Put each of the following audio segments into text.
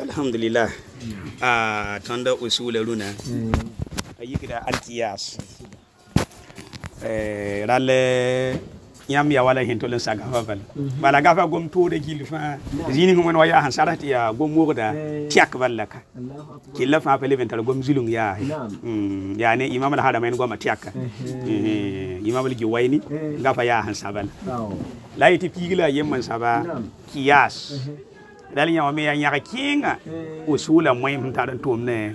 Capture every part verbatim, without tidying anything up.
Alhamdulillah. Ah, tanda usul luna. Ayikida altiyas. Eh, ralle yam ya wala hinto len saga fabal. Bala gafa gom to de gilfa. Zini ngom waya han sarati ya gom murda tiak balaka. Killa fa pele vental gom zulung ya. Mm, ya ne imam al haramain gom tiak. Eh, imam al giwaini gafa ya han sabal. La yiti pigila yemman saba kiyas. Dali nya wame ya nyaka kinga usula moy mtaran tumne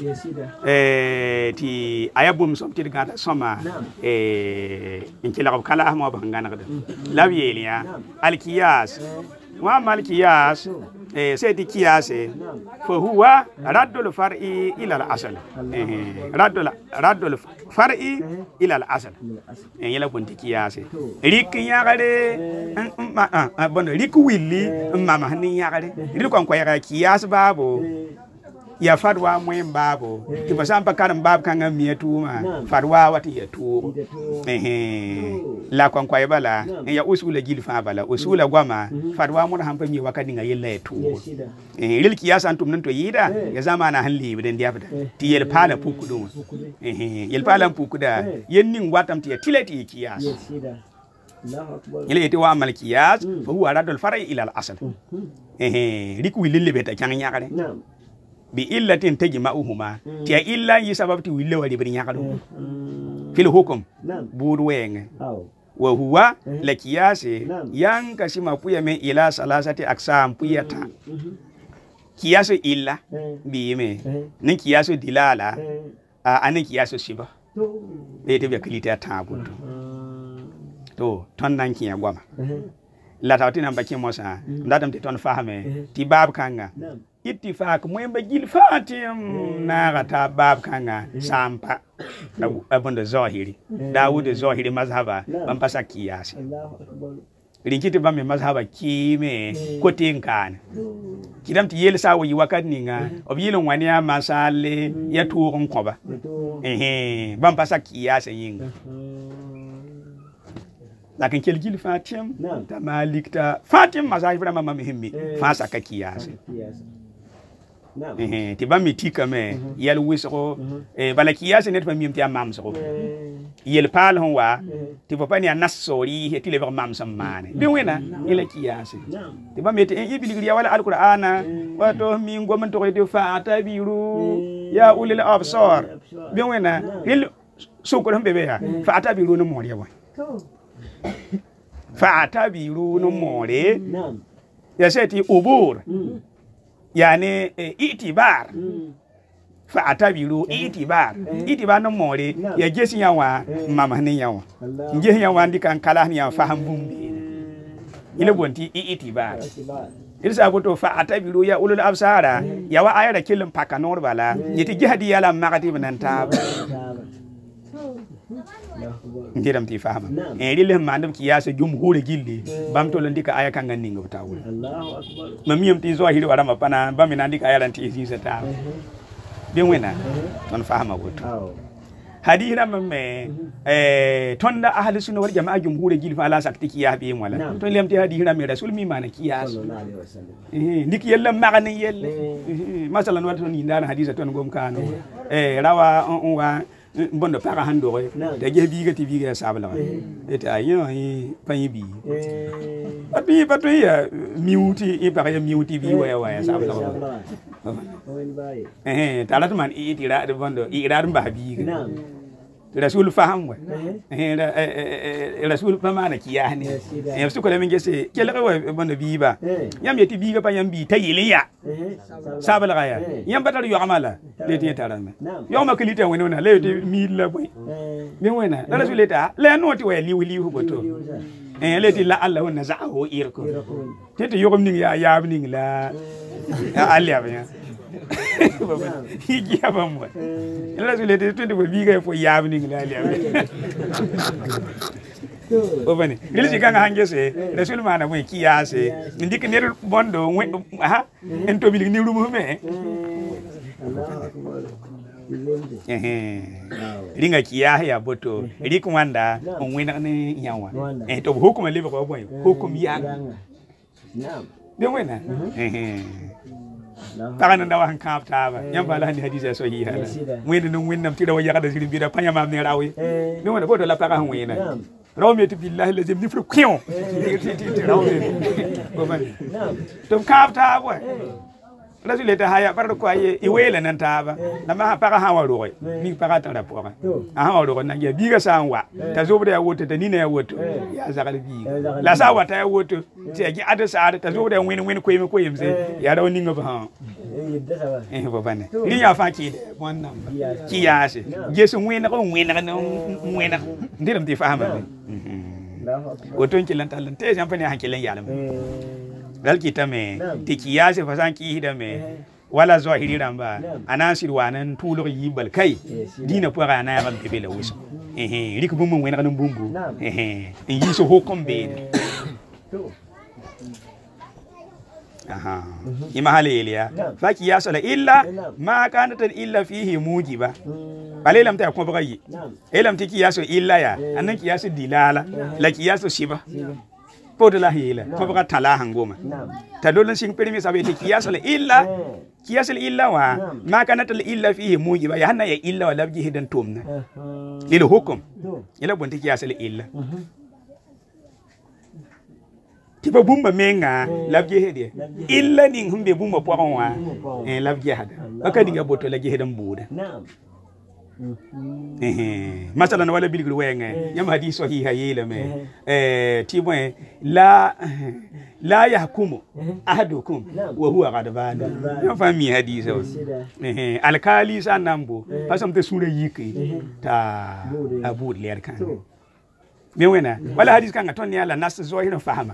eh ti ayabum som ti gata soma eh inkila kala ahma bangana kada labiyelia alkiyas wa malkiyas eh sedi kiyas fa huwa raddul far'i ila al-asl eh raddul raddul far'i ila al-asl eh yela bonti kiyas rik nyagare ah bon rik willi mama ni nyagare rik kon ko yaga kiyas babo ya fadwa mwen babo ti basampa karam bab kanga mietuma fadwa wati ya tu eh la kon ko bala ya usula gilfa bala usula gwama fadwa mun hampa mi wakati nga yella tu eh lil kiyasa antum nan to yida ya zamana hanli bidan dia fada ti yel pala pukudu eh yel pala pukuda yennin watam ti tilati kiyas yele ti wa mal kiyas fa huwa radul far'i ila al asl eh riku lille beta kan nyakare bi illatin tajma'uhuma tiya illa yi sababti wille wali bin yakado fil hukum buru wenge wa huwa la kiyasi yang kasima puya me ila salasati aksam puyata kiyasu illa bi me ni kiyasu dilala ani kiyasu shiba ete be klita tabuto to ton nan kiya gwama la tawtina mbaki mosa ndadam te ton fahame ti bab kanga ittifaq mwemba gil fatim na gata bab kanga sampa abunda zahiri Dawud zahiri mazhaba bampasa kiyasi rinkiti bamme mazhaba kime kotinkana kidam ti yel sawo yi wakati ninga obyilon wani ya masale ya tuurun koba eh bampasa kiyasi yinga lakin kel gil fatim ta malikta fatim mazhab vraiment mamhimmi fasa ka kiyasi eh ti bammi tika me yel wisro eh bala kiyasi net famim ti amam so yel pal hon wa ti popani anasori he ti le mam samane bi wena ila kiyasi ti bammi ti ibili wala alqur'ana wato mi ngom to ko fa tabiru ya ulil absar bi wena hil sukul bebe ha fa tabiru no moriya wa fa tabiru no more ya seti ubur yani itibar fa tabiru itibar itibar no more ya jesi yawa mama ne yawa nje yawa ndikan kala ni ya faham bumbi ile bonti itibar irsa boto fa tabiru ya ulul absara yawa ayara kilin pakanor bala yiti jihadi yala magati bananta ndiram ti fahama e rile mandam kiyasa jumhur gilli bamto ndika aya kanga ninga tawul Allahu akbar mamiyam ti zo hiri warama pana bamina ndika aya lanti sisa ta bien wena non fahama woto hadira mamme eh tonda ahli sunna wal jamaa jumhur gilli fa la sakti kiya bi wala to lemti hadira mi rasul mi mana kiyas sallallahu alaihi wasallam eh ndiki yella magani yelle masalan wato ni ndana hadisa ton gom kano eh rawa on wa bondo para hando re de ge biga ti biga sabla eta ayo yi panyi bi abi bato ya miuti e para ya miuti bi wa wa sabla eh talat man e ti ra de bondo i ra mba biga rasul faham wa eh rasul pamana kiyani eh su ko le mengese kele wa bondo bi ba yam yeti biga pa yam bi tayiliya sabla ga ya yam batar yo amala le ti tarame yo ma kilite wona le ti mi la boy mi wona rasul eta le noti wa liwi liwi boto eh le ti la Allah wona za'o irko tete yo ni ya ya ni la aliya ba hiji hapa mwa ila zile twende kwa biga fo yabni ngilali yabe obane ile jikanga hangese rasul mana mwe kiyase ndike ner bondo ha ento bili ni rumu me eh ringa kiya ya boto rikumanda onwena ne nyawa eh to hukuma libe kwa boy hukum ya naam bien wena eh paga nan da wan kap taba nyam bala ni hadisa so hi hala wende no wennam tira wa yakada siri bida panya mam ne rawi mi wona bodo la paga han wena raw mi to billahi lazim ni fru kion raw mi tum kap taba rasul ta haya bar ko aye iwela nan taba na ma paga han wa roy mi paga tan rapora a han wa na ya biga sanwa ta zo da ya woto ta ni na ya woto ya zakal biga la sa wata ya woto ti gi ada sa ta zo da win win ko yim ko yim se ya raw ni ngaba han eh bo bane ni ya fa ki wannan ki ya se jesu win ko win na win na ndiram ti fahama woto ki lan talan te jampa ne hankilan yalam dal kita me ti kiyase fasan ki hida me wala zahiri ramba anasir wanan tulo yibal kai dina po ga na ya ban bebele wuso eh eh rik bum mun wena kan bumbu eh eh yi so hokom be aha ima halelia fa kiyasa la illa ma kanat illa fihi mujiba bale lam ta ko bagayi elam ti kiyaso illa ya anan kiyaso dilala la kiyaso shiba Poto la hila, ko baka tala hangoma. Ta dolan sing permi sabe te kiyas la illa, kiyas la illa wa, ma kanat la illa fihi mujiba ya hanna ya illa wa labji hidan tumna. Lil hukum. Ila bonti kiyas la illa. Tiba bumba menga labji hede. Illa ning humbe bumba poron wa, eh labji hada. Aka dinga boto la hidan buda. eh masalan wala bilgul wenge yam hadith sahiha yele me eh tibon la la yahkumu ahadukum wa huwa ghadban yam fami hadith eh alkali sanambo pasam te sura yiki ta abu ler kan me wena wala hadith kan ton yala nas zo hino fahama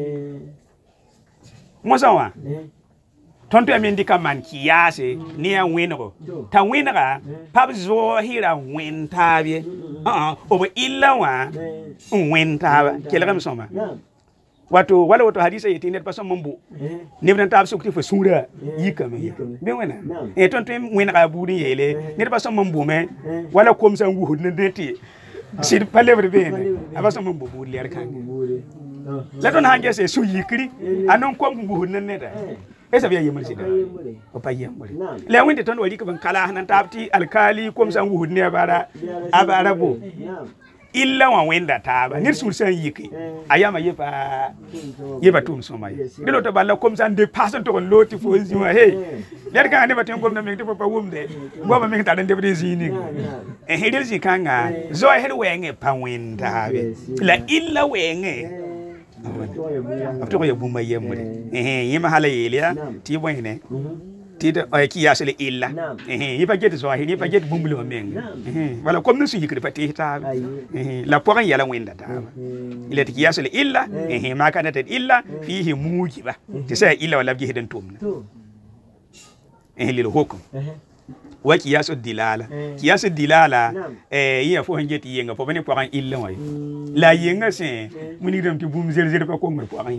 mosawa tonto amendi kaman kiyase ni ya wenro ta wenra pab zo hira wentabie ah obo illa wa wentaba kelgam soma wato wala wato hadisa yiti net paso mombu ni bran tab sukti fo sura yikame be wena e tonto wenra buri yele net paso mombu me wala kom sa ngu hodne deti sir palevre be abaso mombu buri ler kan la don hange se su yikri anon kom ngu hodne neta esa biya yimul sida o payem bari le winde ton wali ko ban kala hanan tabti alkali kom san wuhud ne bara abara bo illa wa wenda taba nir sul san yiki ayama yepa yeba tum soma yi dilo to balla kom san de pasan to loti fo zima hey der kan ne baten kom na mi to pa wumde bo ba mi ta den de zini e hedel zi kanga zo her wenge pa wenda be la illa wenge Abto ya bumba yemure eh yima hala yelia ti boyne ti de ay ki yasle illa eh yipa get so hi yipa get bumbulu men eh wala comme ne su yikri pati ta eh la poran yala wenda ta ile ti yasle illa eh ma kana ta illa fihi mujiba ti sai illa wala bi hidan tumna eh lil hukum wa kiyasu dilala kiyasu dilala eh iya fo hangeti yenga fo bane poran illa way la yenga se muni dem ti bum zer zer pa ko ngur poran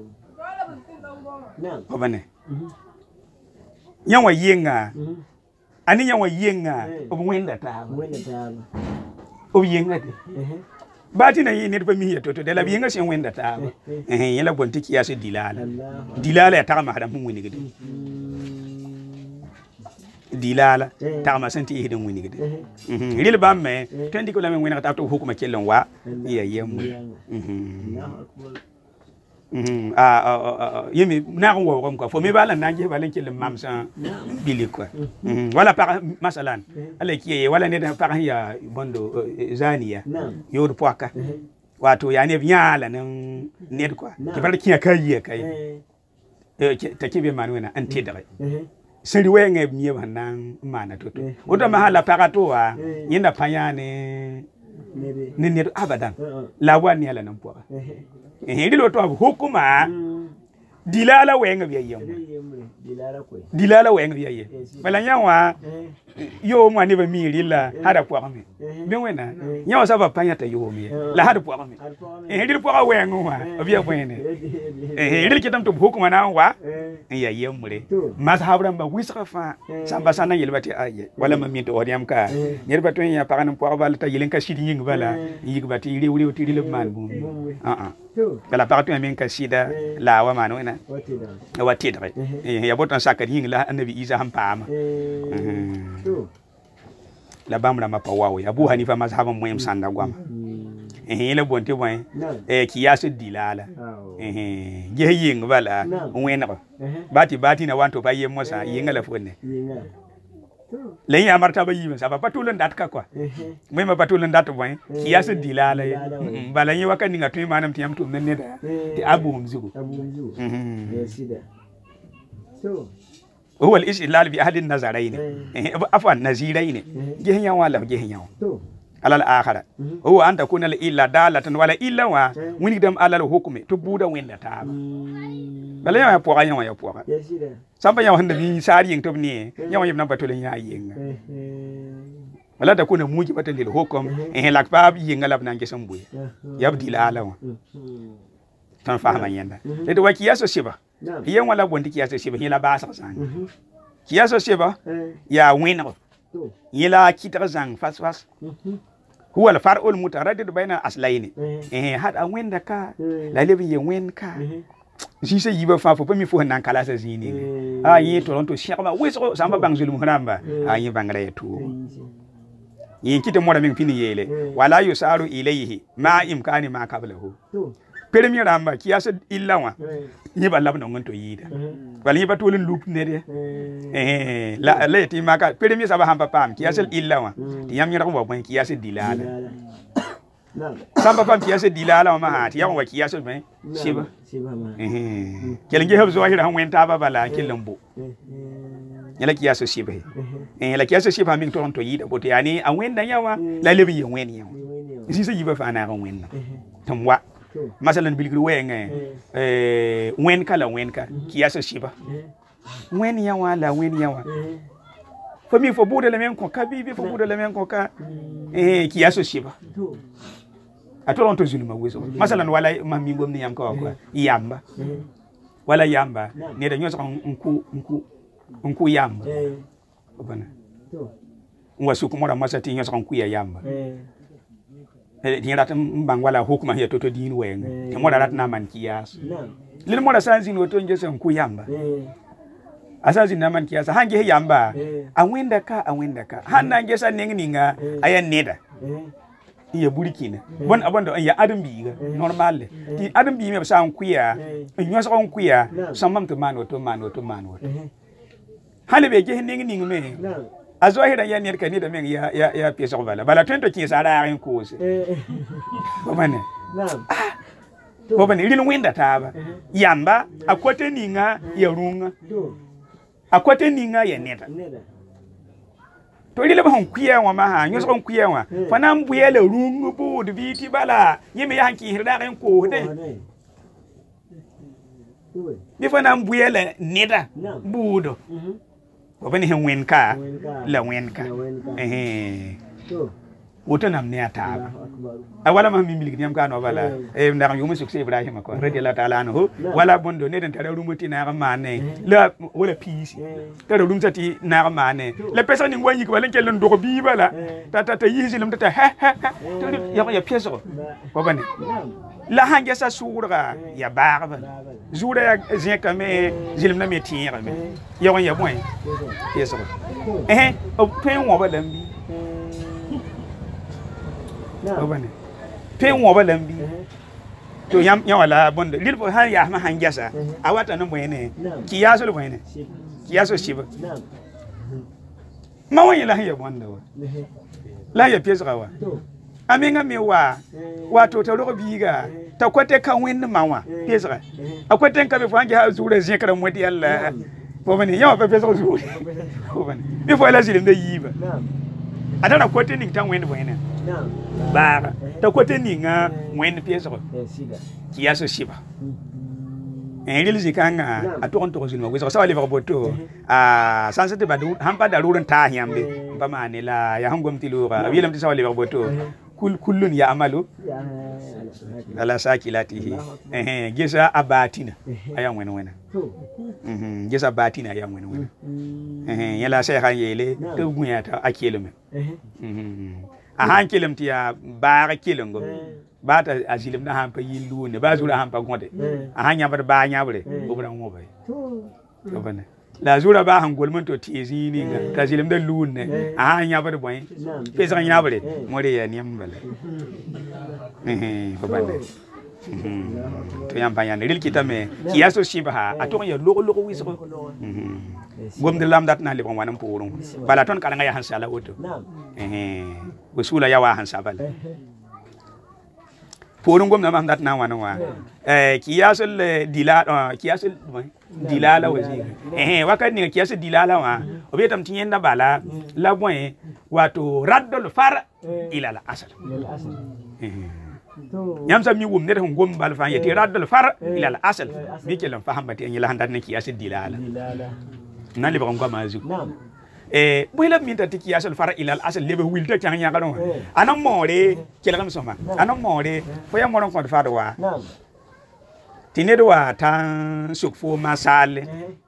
fo bane yanwa yenga ani yanwa yenga o wenda ta wenda ta o yenga de bati na yi ne pa mi yeto to de la yenga se wenda ta eh yela bonti kiyasu dilala dilala ya ta ma hada mun woni gidi dilala tama santi hidin wini gidi mhm ril bamme tendi ko lamen wini ta to hukuma kellon wa iya yemu mhm mhm ah yemi na ko wo ko fo mi bala nangi balen kellon mamsa bili ko mhm wala par masalan ale kiye wala ne da par ya bondo zaniya yor poaka wato ya ne nyala nan ne ko ki bar kiya kai kai ta kibe manwena ante dare seri wenge miye banan mana toto oto mahala pakato wa yenda panyane ne ne abadan la wani ala nan poa eh ndilo to hukuma dilala wenge biya yemu dilala ko dilala wenge biya ye bala nyawa yo mo ne ba mi rilla hada po me me wena nya sa ba panya ta yo me la hada po me eh ril po we ngwa obi abwene eh ril kitam to hukuma na wa ya yemure mazhabran ba wisra fa samba sana yelbati aye wala ma mi to odiam ka yerba to ya pagan po ba ta yelen ka shidi ying bala yigba ti ri wuri ti ri le man bu ah ah bala paratu men ka shida la wa man wena wati da eh ya botan sakar ying la annabi isa han pama la bamra ma pawawo Abu Hanifa mazhaban moyem sanda gwam eh le bonte boy eh kiyasu dilala eh ge ying bala wena bati bati na wanto baye mosa yinga la fonne le ya martaba yima sa ba patulun dat ka kwa moy ma patulun dat boy kiyasu dilala bala yi wakani ngatu manam tiyam tum ne da ti abu mzigo abu mzigo eh sida so هو الاستدلال بأحد النظرين عفوا النظيرين جهنيا ولا جهنيا على الآخر هو أن تكون الإلا دالة ولا إلا وين دم على الحكم تبودا وين لا تاب بلا يا بوغا يا بوغا سامبا يا هند بي ساري ين تبني يا يم نبا تولين يا ين ولا تكون موجبة للحكم إن لك باب ين غلب نانجي سمبوي يبدي لا لا tan fahama yenda le do kiyaso shiba yen wala bondi kiyaso shiba hila basa sang kiyaso shiba ya winro yila kitara sang fas fas huwa al far'ul mutaraddid baina aslaini eh had a wenda ka la lebi yen wen ka si se yiba fa fo mi fo nan kala sa zini a yi toronto shaba weso samba bang zulum hramba a yi bangala yetu yin kite mora min fini yele wala yusaru ilayhi ma imkani ma qablahu premier ramba kiyasa illa wa ni ba labna ngonto yida wala ni ba tolin loop ne de eh la la ti maka premier saba hamba pam kiyasa illa wa ti yam nyara ko ba kiyasa dilala samba pam kiyasa dilala ma ha ti yam wa kiyasa ben shiba eh kelenge habzo wa hira han wenta ba bala kilambo yala kiyasa shiba eh la kiyasa shiba min toronto yida boto yani an wenda yawa la lebi yen wen yawa isi se yiba fa na ran wenna tamwa masalan bilgri wenge eh wen kala wen ka kiyasa shiba wen yawa la wen yawa fo mi fo bude le men ko ka bibi fo bude le men ko ka eh kiyasa shiba a toronto zuluma weso masalan wala mami ngom ni yam ko ko yamba wala yamba ne da nyoso nku nku nku yamba bana wasu kuma da masati nyoso nku ya yamba dina tan bang wala hukuma ya toto din wen te mo darat na man kiyas lil mo da sanzin woto nje sen ku yamba asazin na man kiyas hange yamba a wenda ka a wenda ka hanna nge san ninga aya neda iya burkina bon abondo ya adam bi normal ti adam bi me sa ku ya nyo sa ku ya samam to man woto man woto man woto hale be ge ninga ninga me azohira ya nyer kanida men ya ya ya pesa bala bala twento ki sara rin kose bomane naam bomane ilin winda taba yamba akote ninga ya runga akote ninga ya neta to ile ba hon kuya wa ma ha nyoso hon kuya wa fana mbuye le rungu bu de biti bala yeme ya hanki hirda rin ko de ni fana mbuye le neta budo wabani hen wenka la wenka eh woto nam ne ata wala ma mi miliki nyam kano wala e ndar yumu succès Ibrahim ko radiyallahu ta'ala anhu wala bondo ne den tare rumuti na mane la wala pisi tare rumsati na mane la pesa ni ngwanyi ko wala kel ndo bi bala tata ta yisi lam tata ha ha ya ya pieso wabani la hanje sa sourga ya barbe joura ya zeka me zilim na me tire me ya won ya boy pieso eh o pen wo ba lambi obane pen wo ba lambi to yam ya wala bonde lil bo han ya ma hanje sa awata no boyene ki yaso boyene ki yaso shiba ma won la ya bonde wa la ya pieso wa aminga mi wa wato ta ro biga ta kwate kan win mawa pesa akwate kan be fange ha zura zin kara modi Allah bo bane yawa pe pesa zura bo bane bi fo la zilim da yiba adana kwate ni tan win bo ina ba ta kwate ni nga win pesa ko kiyaso shiba en ril zikanga a to on to zulma wiso sawali ba boto a sansete ba hampa da ruran ta yambe ba mane la ya hangom tilura wilam ti sawali ba boto kul kullun ya amalu ala sakilatihi eh gisa abatina ayan wena wena mhm gisa batina ayan wena wena eh yala sai kan yele to gunya ta akelum mhm a hankelum ti ya ba kelum ba ta azilim na hampa yilu ne ba zura hampa gonde a hanya bar ba nya bare obran mo bai to bane la zura ba hangol mun to tizi ni ga ta zilim da lu ne a hanya bar boy pe san nya bare more ya niyam bale eh to bane to yam bayan ril kitame kiyaso shiba a to ya logo logo wiso gom de lam dat na le bon wanam purun bala ton kala nga ya hansala oto eh usula ya wa hansa bale Purun gom na mam dat na wana wa eh kiyasul dilala kiyasul dilala wazi eh wakat ni kiyasul dilala wa obetam tinyen na bala la boy wato raddul far ila la asal yam sam ni wum ne gom bal fa yati raddul far ila la asal bi kelam fahamati en la handat ne kiyasul dilala nan le bagam gama azu eh boyla minta tiki asal fara ilal asal lebe wilta tan nya galon anan more kelgam soma anan more fo ya moron ko fa do wa tinedo wa tan sukfo masale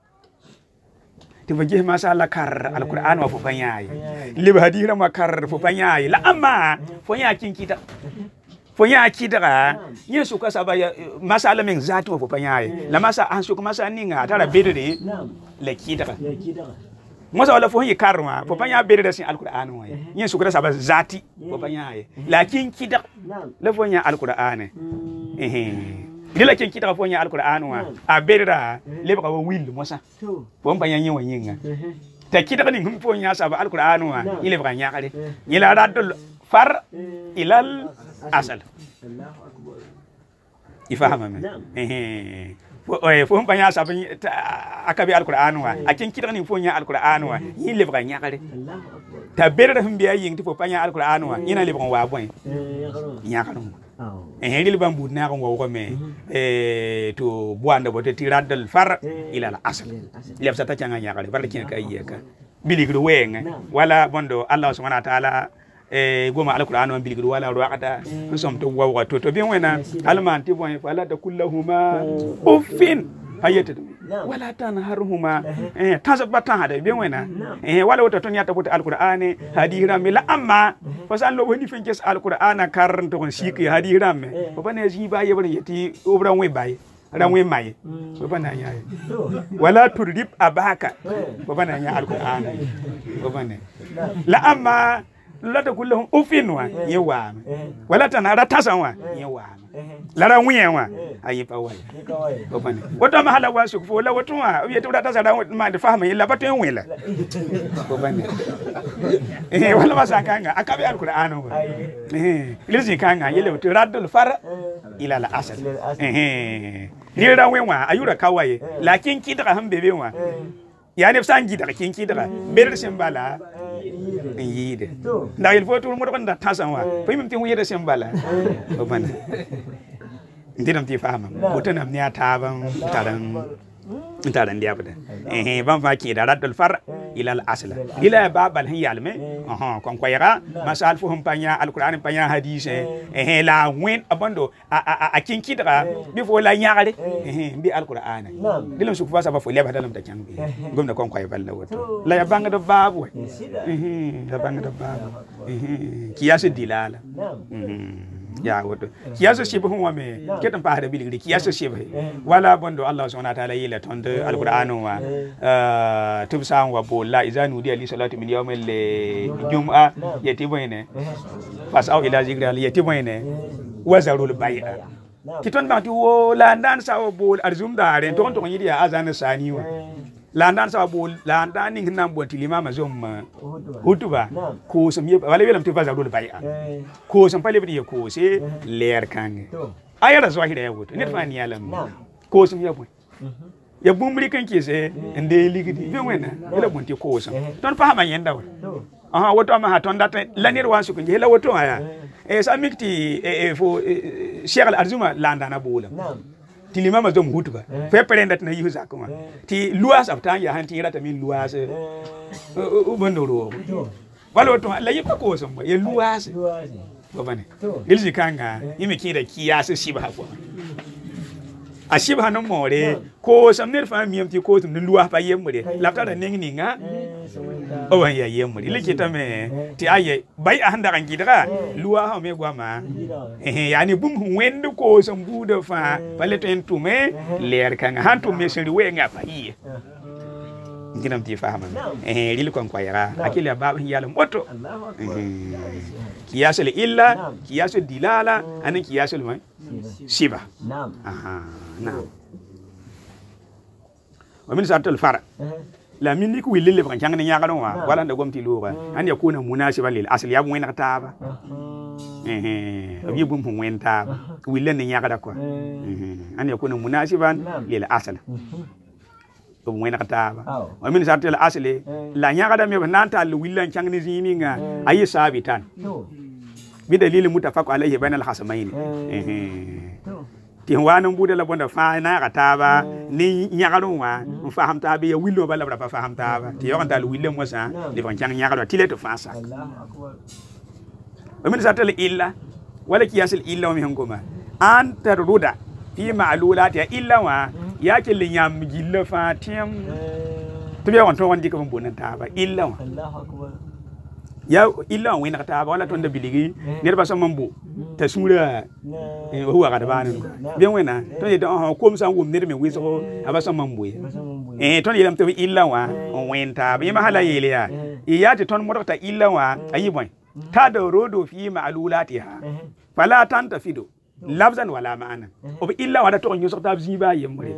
ti waje masala kar alquran wa fo fanyai lebe hadira makar fo fanyai la amma fo ya kinkita fo ya kidara yesu ka sabaya masala min zati wa fo fanyai la masa an suku masa ninga tara bedere la kidara Mosa wala fo yi karma fo panya bere da sin alquran wa yin su kura saba zati fo panya ye lakin kida la fo nya alquran eh eh la kin kida fo nya alquran wa a bere da le ba wa wil mosa fo panya yin wa yin ta kida ni hum fo nya saba alquran wa ile ba nya kare ni la radul far ilal asal Allahu akbar ifahama me eh eh fo panya saba akabi alquran wa akin kida ni fo nya alquran wa yin le ba nya kare ta bere da hum biya yin fo panya alquran wa ina le ba wa boy nya kare eh dil bambu na ko ko me eh to buanda bote tiradal far ila al asl le fata tanga nya kare barkin ka yeka biligru wenga wala bondo Allah subhanahu wa ta'ala eh goma alquran wa biligru wala ruqata som to wa to to bien wena alman ti bon wala ta kullahuma uffin hayata wala tanharhuma eh tasabata hada bien wena eh wala wata ton yata bota alquran hadira mi la amma fasan lo woni fin kes alquran karan to shiki hadira me ko bane ji ba yebar yati obran we baye ran we maye ko bana nya wala turdib abaka ko bana nya alquran ko bane la amma la ta kullahum ufinwa yewa wala tanara tasanwa yewa lara wiyen wa ayi pa wai ko bane wato ma hala wasu ko la wato wa wiye to ta sara ma da fahama illa bato yin wela ko bane eh wala ma sakanga akabe alquran wa eh lizi kanga yele to radul far ila la asal eh ni ra wenwa ayura kawaye lakin kidra han bebe wa ya ne sangi da kin kidra ber simbala yide da il faut tout le monde da tasanwa fa mim tin yede simbala ko bane ndinam ti fahama botanam ne ataban taran taran dia bada eh ban fa ki da radul far ila al asl ila babal hin yalme aha kon ko yara masal fuhum panya alquran panya hadith eh la wen abando a kin kidra bi fo la nyaare eh bi alquran dilam su fa saba fo leba dalam ta kan gomna kon ko balla woto la ya banga do babu eh la banga do babu eh kiyas dilala ya woto kiyaso shibu hum wame ketan pa hada biligri kiyaso shibu wala bondo Allah subhanahu wa ta'ala yila tonde alquran wa tubsan wa bolla izanu di ali salatu min yawmil jum'a yati boyne fas aw ila zikri ali yati boyne wazarul bai'a kiton ba ti wo la ndan sa wo bol arzum dare ton ton yidi azan sani wa la ndan sa bol la ndan ning nam bon tilima ma zom hutuba ko sam yeb wala welam ti wazarul bai'a ko sam pale bi ko se ler kange ayara zo hida yawo ne fa ni yalam ko sam yeb ya bumbri kan ke se ende ligidi be wena ila bon ti ko sam ton fa ma yenda wa aha woto ma ha ton data lanir wa su ko hela woto aya e sa mikti e fo Sheikh Al Arzuma la ndana bolam ti limama zom hutba fe prenda na yu zakuma ti luas aftan ya han ti rata min luas u bonoro wala to la yipa ko so ye luas babane dilji kanga yimi kira kiyasa shiba ko a shiba no more ko sam ne fa miyam ti ko tum luwa pa yemure lafta da ning ninga o wan ya yemure likita me ti aye bai a handa kan gidara luwa ha me gwa ma eh yani bum wendu ko sam buda fa pale to entume ler kan han to me seri we nga fa yi nginam ti fahama eh lil kon ko yara akili baba yalla moto kiyasul illa kiyasul dilala anan kiyasul mai shiba na'am aha na'am wa min sartul fara la min ni ku wilil ban jang ni nyaga don wa wala da gomti luwa an yakuna munasiban lil asli ya mu taba eh eh abi bum hum wen taba wilil ni nyaga da ko eh an yakuna munasiban lil asli bum wen taba wa min sartul asli la nyaga da me nanta lu wilil jang ni zini nga ayi sabitan bi dalilin mutafaq alaihi bainal hasamain eh ti wanan bude la bonda fa na kataba ni nyagaron wa faham tabe ya willo bala bra faham taba ti yo kan willo mo sa li fan chang nyagaro ti le to fa sa Allahu akbar wa min satal illa wala kiyasul illa mi hangoma an taruda fi ma'lulat ya illa wa yake li nyam gilla fa tim to be won to won dikam bonan taba illa wa Allahu akbar ya illa wa wina kataba wala to nda biligi ne ba so mambo ta sura eh huwa ka da bani bien wena to ye don ko msan wum ne me wiso aba so mambo eh to ye lam to illa wa on wenta bi ma hala yele ya ya ti ton modota illa wa ayi boy ta da rodo fi ma'lulatiha fala tanta fido lafzan wala ma'ana o illa wa da to nyu so ta ziba yemre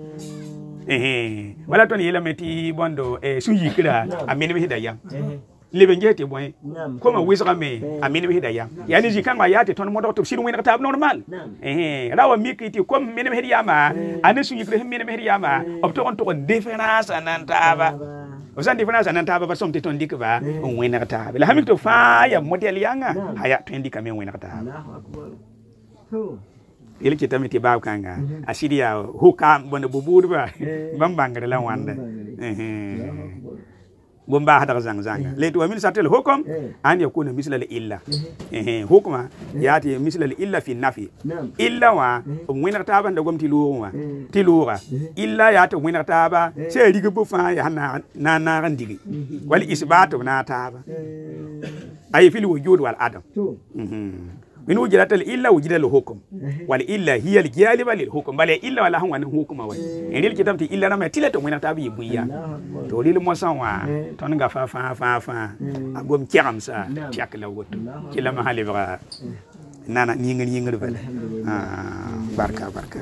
eh wala to ye lam ti bondo eh suyi kira amene bi hidayam leben jeti boy koma wisra me amini bi hidaya yani jikanga yati ton modo to siru wena tab normal eh rawa mikiti kom mene me hidiyama anisu yikre mene me hidiyama opto on to difference anan taba osan difference anan taba ba somte ton dikba on wena taba la hamikto fa ya model yanga haya to indika me wena taba Allahu akbar to ile kita meti bab kanga asidia hukam bona bubudba bambangare la wanda eh bomba hada zang zanga letu wa min satel hukum an yakuna misla illa eh hukuma yati misla illa fi nafi illa wa mwina taba nda gomti luwa ti luwa illa yati mwina taba se riga bu fa ya na na na randigi wal isbatu na taba ay fil wujud wal adam mhm من وجدت الإلا وجد الحكم والإلا هي الجالبة للحكم بل إلا ولا هم عن حكم وين يعني الكتاب تي إلا نما تلا تومينا تابي بويا تولي المسوا تونغا فا فا فا فا أقوم كيرام سا تياك لوجود كلا ما هالي بقى نانا نينغ نينغ بله آه بركة بركة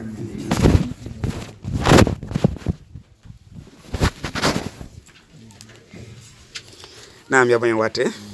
نعم يا بني واتي